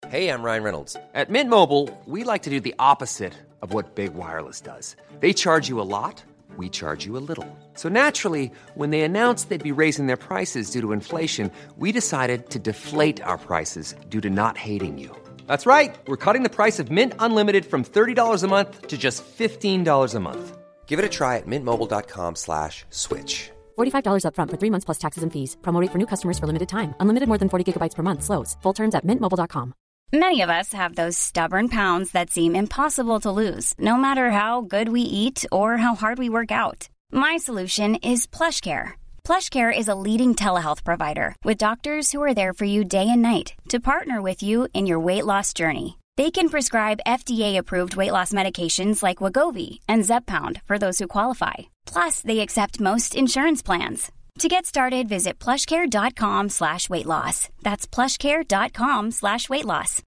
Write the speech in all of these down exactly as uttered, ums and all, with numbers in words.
Hey, I'm Ryan Reynolds. At Mint Mobile, we like to do the opposite of what Big Wireless does. They charge you a lot, we charge you a little. So naturally, when they announced they'd be raising their prices due to inflation, we decided to deflate our prices due to not hating you. That's right. We're cutting the price of Mint Unlimited from thirty dollars a month to just fifteen dollars a month. Give it a try at mintmobile.com slash switch. forty-five dollars up front for three months plus taxes and fees. Promo rate for new customers for limited time. Unlimited more than forty gigabytes per month slows. Full terms at mint mobile dot com. Many of us have those stubborn pounds that seem impossible to lose, no matter how good we eat or how hard we work out. My solution is PlushCare. PlushCare is a leading telehealth provider with doctors who are there for you day and night to partner with you in your weight loss journey. They can prescribe F D A-approved weight loss medications like Wegovy and Zepbound for those who qualify. Plus, they accept most insurance plans. To get started, visit plushcare.com slash weight loss. That's plushcare.com slash weight loss.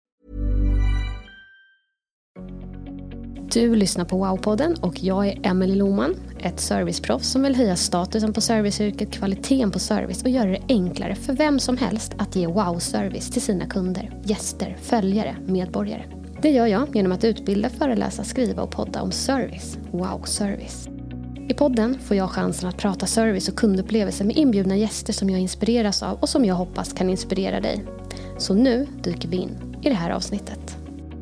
Du lyssnar på Wow-podden och jag är Emelie Lohman, ett serviceproffs som vill höja statusen på serviceyrket, kvaliteten på service och göra det enklare för vem som helst att ge wow-service till sina kunder, gäster, följare, medborgare. Det gör jag genom att utbilda, föreläsa, skriva och podda om service. Wow-service. I podden får jag chansen att prata service och kundupplevelser med inbjudna gäster som jag inspireras av och som jag hoppas kan inspirera dig. Så nu dyker vi in i det här avsnittet.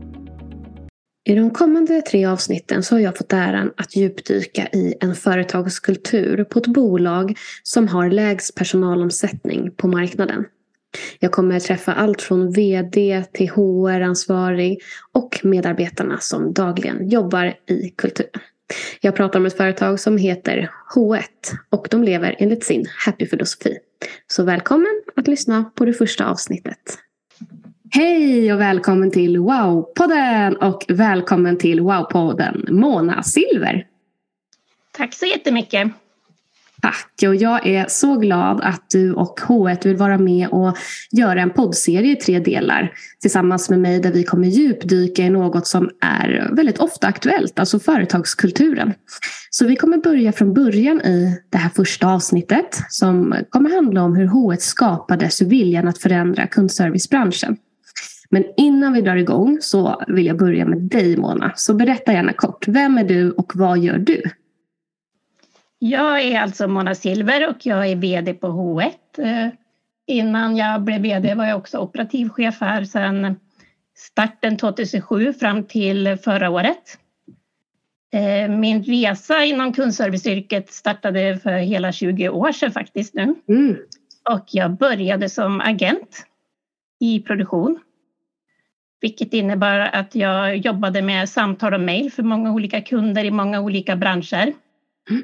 I de kommande tre avsnitten så har jag fått äran att djupdyka i en företagskultur på ett bolag som har lägst personalomsättning på marknaden. Jag kommer träffa allt från vd till H R-ansvarig och medarbetarna som dagligen jobbar i kulturen. Jag pratar om ett företag som heter H ett och de lever enligt sin happy-filosofi. Så välkommen att lyssna på det första avsnittet. Hej och välkommen till Wow-podden och välkommen till Wow-podden Mona Silver. Tack så jättemycket. Tack, och jag är så glad att du och H ett vill vara med och göra en poddserie i tre delar tillsammans med mig där vi kommer djupdyka i något som är väldigt ofta aktuellt, alltså företagskulturen. Så vi kommer börja från början i det här första avsnittet som kommer handla om hur H ett skapades ur viljan att förändra kundservicebranschen. Men innan vi drar igång så vill jag börja med dig, Mona. Så berätta gärna kort, vem är du och vad gör du? Jag är alltså Mona Silver och jag är vd på H ett. Innan jag blev vd var jag också operativchef här sedan starten tjugohundrasju fram till förra året. Min resa inom kundserviceyrket startade för hela tjugo år sedan faktiskt nu. Mm. Och jag började som agent i produktion. Vilket innebär att jag jobbade med samtal och mejl för många olika kunder i många olika branscher. Mm.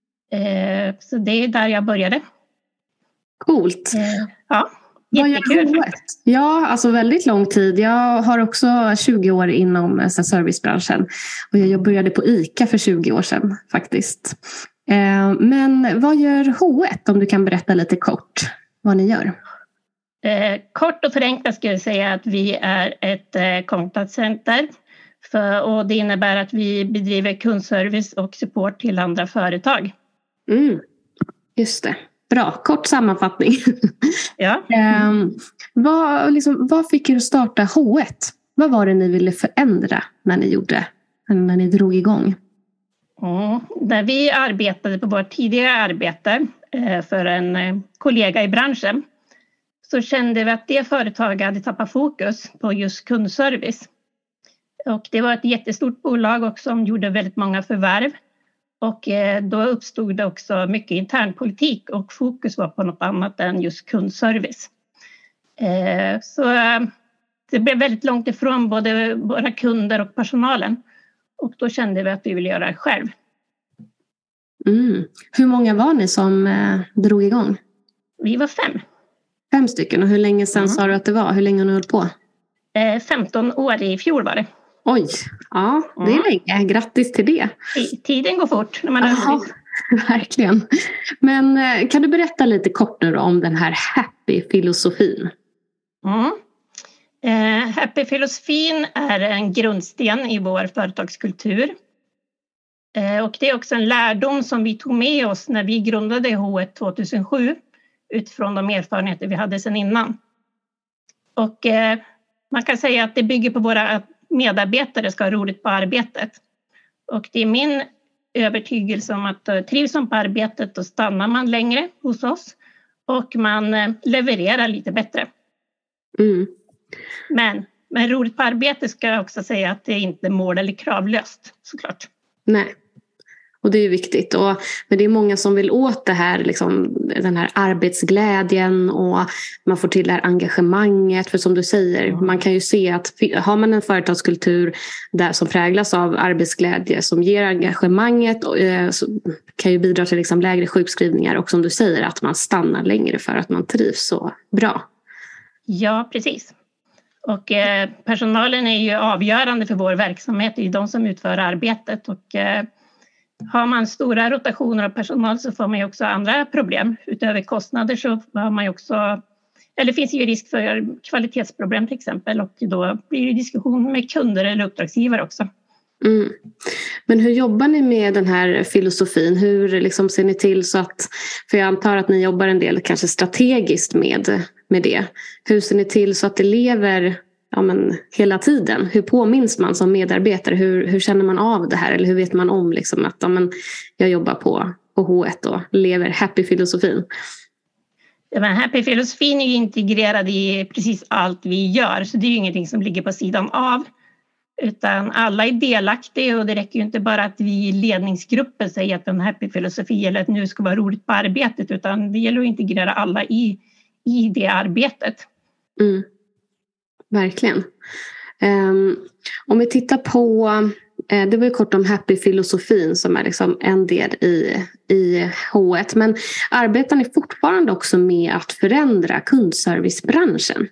Så det är där jag började. Coolt. Ja, jättekul. Ja, alltså väldigt lång tid. Jag har också tjugo år inom servicebranschen. Och jag började på ICA för tjugo år sedan faktiskt. Men vad gör H ett, om du kan berätta lite kort vad ni gör? Eh, kort och förenklat skulle jag säga att vi är ett eh, kontaktcenter. För, och det innebär att vi bedriver kundservice och support till andra företag. Mm, just det. Bra, kort sammanfattning. Ja. um, vad, liksom, vad fick er att starta H ett? Vad var det ni ville förändra när ni gjorde, när ni drog igång? Mm, när vi arbetade på vårt tidigare arbete eh, för en eh, kollega i branschen så kände vi att det företaget hade tappat fokus på just kundservice. Och det var ett jättestort bolag också som gjorde väldigt många förvärv. Och då uppstod det också mycket internpolitik och fokus var på något annat än just kundservice. Så det blev väldigt långt ifrån både våra kunder och personalen. Och då kände vi att vi ville göra det själv. Mm. Hur många var ni som drog igång? Vi var fem. Fem stycken, och hur länge sedan mm. sa du att det var? Hur länge har ni hållit på? femton år i fjol var det. Oj, ja, det är länge. Grattis till det. Tiden går fort när man är Aha, verkligen. Men kan du berätta lite kort nu om den här happy-filosofin? Mm. Eh, happy-filosofin är en grundsten i vår företagskultur. Eh, och det är också en lärdom som vi tog med oss när vi grundade H ett tjugohundrasju utifrån de erfarenheter vi hade sedan innan. Och eh, man kan säga att det bygger på våra medarbetare ska ha roligt på arbetet. Och det är min övertygelse om att trivs man på arbetet då stannar man längre hos oss och man levererar lite bättre. Mm. Men, men roligt på arbetet ska jag också säga att det är inte mål eller kravlöst såklart. Nej. Och det är ju viktigt. Och, men det är många som vill åt det här, liksom, den här arbetsglädjen och man får till det här engagemanget. För som du säger, mm. man kan ju se att har man en företagskultur där som präglas av arbetsglädje som ger engagemanget och, eh, så kan ju bidra till liksom, lägre sjukskrivningar. Och som du säger, att man stannar längre för att man trivs så bra. Ja, precis. Och eh, personalen är ju avgörande för vår verksamhet. Det är de som utför arbetet och eh, har man stora rotationer av personal så får man ju också andra problem. Utöver kostnader så har man ju också, eller finns ju risk för kvalitetsproblem till exempel. Och då blir det diskussion med kunder eller uppdragsgivare också. Mm. Men hur jobbar ni med den här filosofin? Hur liksom ser ni till så att, för jag antar att ni jobbar en del kanske strategiskt med, med det. Hur ser ni till så att det lever ja, men, hela tiden? Hur påminns man som medarbetare? Hur, hur känner man av det här? Eller hur vet man om liksom, att ja, men, jag jobbar på, på H ett och lever happy-filosofin? Ja, men happy-filosofin är ju integrerad i precis allt vi gör. Så det är ju ingenting som ligger på sidan av. Utan alla är delaktiga och det räcker ju inte bara att vi i ledningsgruppen säger att en happy-filosofi eller att nu ska vara roligt på arbetet. Utan det gäller att integrera alla i, i det arbetet. Mm. Verkligen. Um, om vi tittar på, uh, det var ju kort om happy-filosofin som är liksom en del i, i H ett. Men arbetar ni fortfarande också med att förändra kundservicebranschen?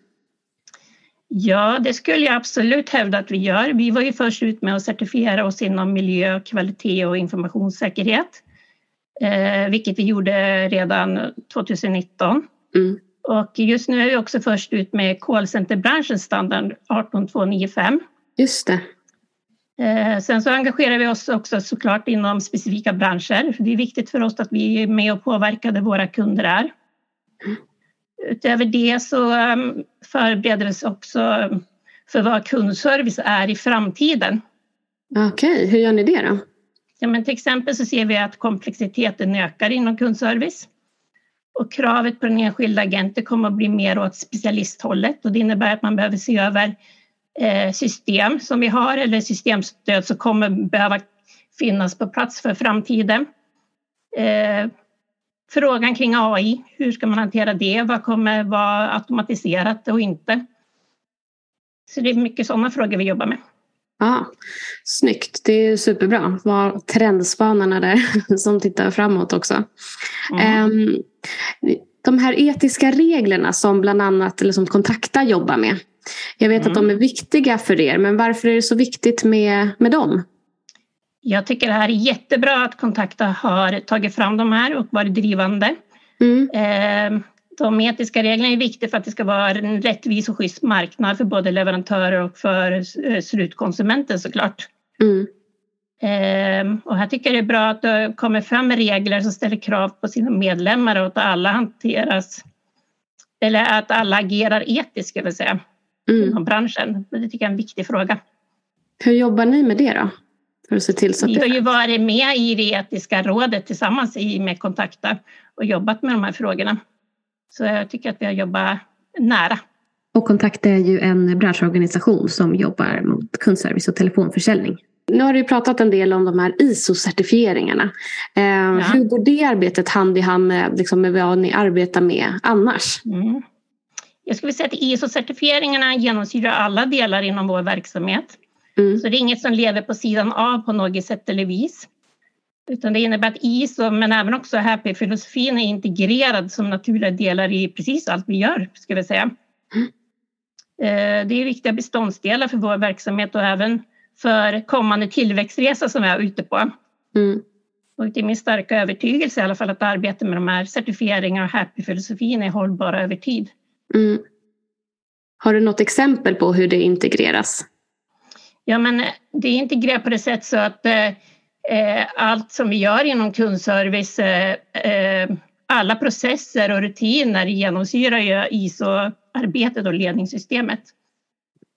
Ja, det skulle jag absolut hävda att vi gör. Vi var ju först ut med att certifiera oss inom miljö, kvalitet och informationssäkerhet. Eh, vilket vi gjorde redan tjugonitton. Mm. Och just nu är vi också först ut med callcenterbranschens standard arton två nio fem. Just det. Eh, sen så engagerar vi oss också såklart inom specifika branscher. Det är viktigt för oss att vi är med och påverkar där våra kunder är. Mm. Utöver det så um, förbereder vi oss också för vad kundservice är i framtiden. Okej, okay. Hur gör ni det då? Ja, men till exempel så ser vi att komplexiteten ökar inom kundservice. Och kravet på den enskilda agenten kommer att bli mer åt specialisthållet. Och det innebär att man behöver se över eh, system som vi har eller systemstöd som kommer behöva finnas på plats för framtiden. Eh, Frågan kring A I, hur ska man hantera det? Vad kommer vara automatiserat och inte? Så det är mycket sådana frågor vi jobbar med. Ja, snyggt. Det är superbra. Var trendspanarna där som tittar framåt också. Mm. Um, de här etiska reglerna som bland annat eller som Kontakta jobbar med. Jag vet mm. att de är viktiga för er, men varför är det så viktigt med, med dem? Jag tycker det här är jättebra att Kontakta har tagit fram de här och varit drivande. Mm. De etiska reglerna är viktiga för att det ska vara en rättvis och schysst marknad för både leverantörer och för slutkonsumenten såklart. Mm. Och här tycker jag det är bra att det kommer fram regler som ställer krav på sina medlemmar och att alla hanteras, eller att alla agerar etiskt ska jag säga, mm. inom branschen. Det tycker jag är en viktig fråga. Hur jobbar ni med det då? För att se till så att vi har ju varit med i det etiska rådet tillsammans med Kontakta och jobbat med de här frågorna. Så jag tycker att vi har jobbat nära. Och Kontakta är ju en branschorganisation som jobbar mot kundservice och telefonförsäljning. Nu har du pratat en del om de här I S O-certifieringarna. Eh, ja. Hur går det arbetet hand i hand med, liksom, med vad ni arbetar med annars? Mm. Jag skulle säga att I S O-certifieringarna genomsyrar alla delar inom vår verksamhet. Mm. Så det är inget som lever på sidan av på något sätt eller vis. Utan det innebär att I S O men även också happy-filosofin är integrerad som naturliga delar i precis allt vi gör, ska vi säga. Mm. Det är viktiga beståndsdelar för vår verksamhet och även för kommande tillväxtresa som vi är ute på. Mm. Och det är min starka övertygelse i alla fall att arbeta med de här certifieringarna och happy-filosofin är hållbara över tid. Mm. Har du något exempel på hur det integreras? Ja, men det är integrerat på det sätt så att eh, allt som vi gör inom kundservice, eh, alla processer och rutiner genomsyrar ju I S O-arbetet och ledningssystemet.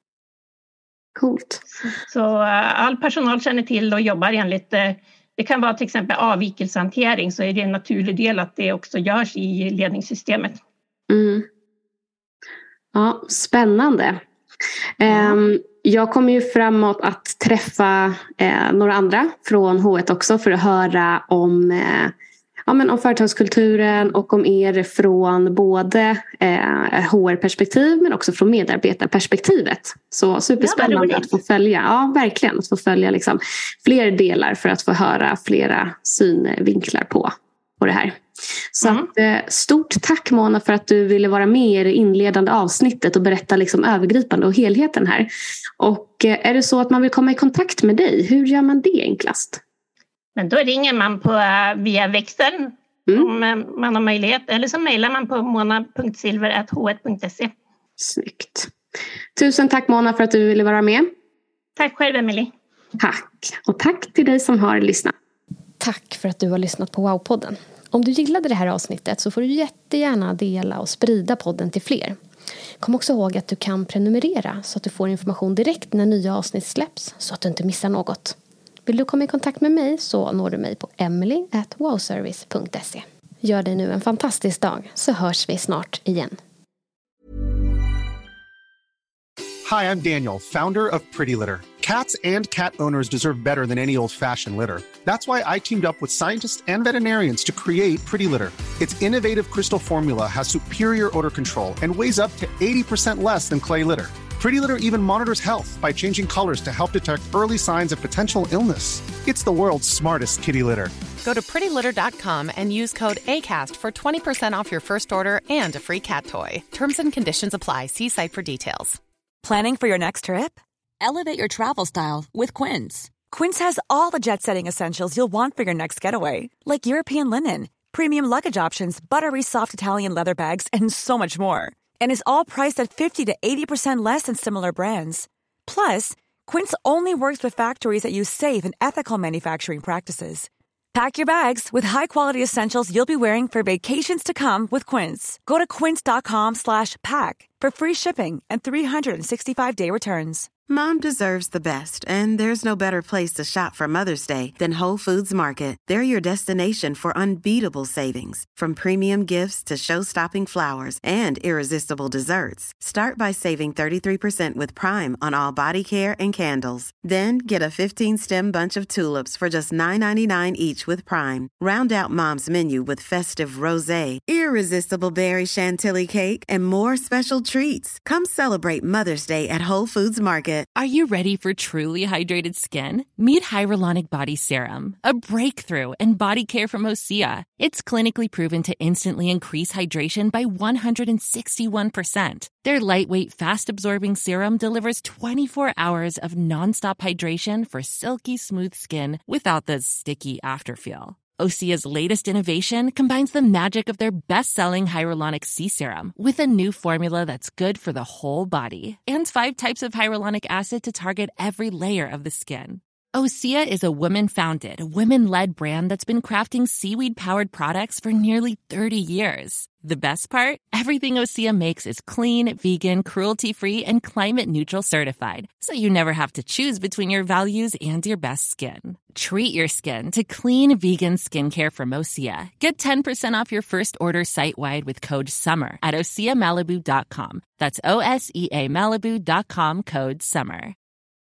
Coolt. Så uh, all personal känner till och jobbar enligt, uh, det kan vara till exempel avvikelsehantering, så är det en naturlig del att det också görs i ledningssystemet. Mm. Ja, spännande. Um, jag kommer ju framåt att träffa uh, några andra från H ett också för att höra om uh, Ja, men om företagskulturen och om er från både eh, H R-perspektiv men också från medarbetarperspektivet. Så superspännande ja, att få följa. Ja, verkligen. Att få följa liksom fler delar för att få höra flera synvinklar på, på det här. Så mm. att, eh, stort tack Mona för att du ville vara med i det inledande avsnittet och berätta liksom övergripande och helheten här. Och eh, är det så att man vill komma i kontakt med dig, hur gör man det enklast? Men då ringer man på via växeln mm. om man har möjlighet. Eller så mejlar man på mona punkt silver at h ett punkt se. Snyggt. Tusen tack Mona för att du ville vara med. Tack själv Emily. Tack. Och tack till dig som har lyssnat. Tack för att du har lyssnat på Wow-podden. Om du gillade det här avsnittet så får du jättegärna dela och sprida podden till fler. Kom också ihåg att du kan prenumerera så att du får information direkt när nya avsnitt släpps så att du inte missar något. Vill du komma i kontakt med mig så når du mig på emily at wowservice punkt se. Gör dig nu en fantastisk dag så hörs vi snart igen. Hi, I'm Daniel, founder of Pretty Litter. Cats and cat owners deserve better than any old-fashioned litter. That's why I teamed up with scientists and veterinarians to create Pretty Litter. Its innovative crystal formula has superior odor control and weighs up to eighty percent less than clay litter. Pretty Litter even monitors health by changing colors to help detect early signs of potential illness. It's the world's smartest kitty litter. Go to pretty litter dot com and use code ACAST for twenty percent off your first order and a free cat toy. Terms and conditions apply. See site for details. Planning for your next trip? Elevate your travel style with Quince. Quince has all the jet-setting essentials you'll want for your next getaway, like European linen, premium luggage options, buttery soft Italian leather bags, and so much more. And is all priced at fifty to eighty percent less than similar brands. Plus, Quince only works with factories that use safe and ethical manufacturing practices. Pack your bags with high-quality essentials you'll be wearing for vacations to come with Quince. Go to quince dot com slash pack for free shipping and three sixty-five day returns. Mom deserves the best, and there's no better place to shop for Mother's Day than Whole Foods Market. They're your destination for unbeatable savings, from premium gifts to show-stopping flowers and irresistible desserts. Start by saving thirty-three percent with Prime on all body care and candles. Then get a fifteen-stem bunch of tulips for just nine ninety-nine each with Prime. Round out Mom's menu with festive rosé, irresistible berry chantilly cake, and more special treats. Come celebrate Mother's Day at Whole Foods Market. Are you ready for truly hydrated skin? Meet Hyaluronic Body Serum, a breakthrough in body care from Osea. It's clinically proven to instantly increase hydration by one hundred sixty-one percent. Their lightweight, fast-absorbing serum delivers twenty-four hours of nonstop hydration for silky smooth skin without the sticky afterfeel. Osea's latest innovation combines the magic of their best-selling Hyaluronic Sea Serum with a new formula that's good for the whole body and five types of hyaluronic acid to target every layer of the skin. Osea is a women-founded, women-led brand that's been crafting seaweed-powered products for nearly thirty years. The best part? Everything Osea makes is clean, vegan, cruelty-free, and climate-neutral certified, so you never have to choose between your values and your best skin. Treat your skin to clean, vegan skincare from Osea. Get ten percent off your first order site-wide with code SUMMER at osea malibu dot com. That's O S E A Malibu dot com, code SUMMER.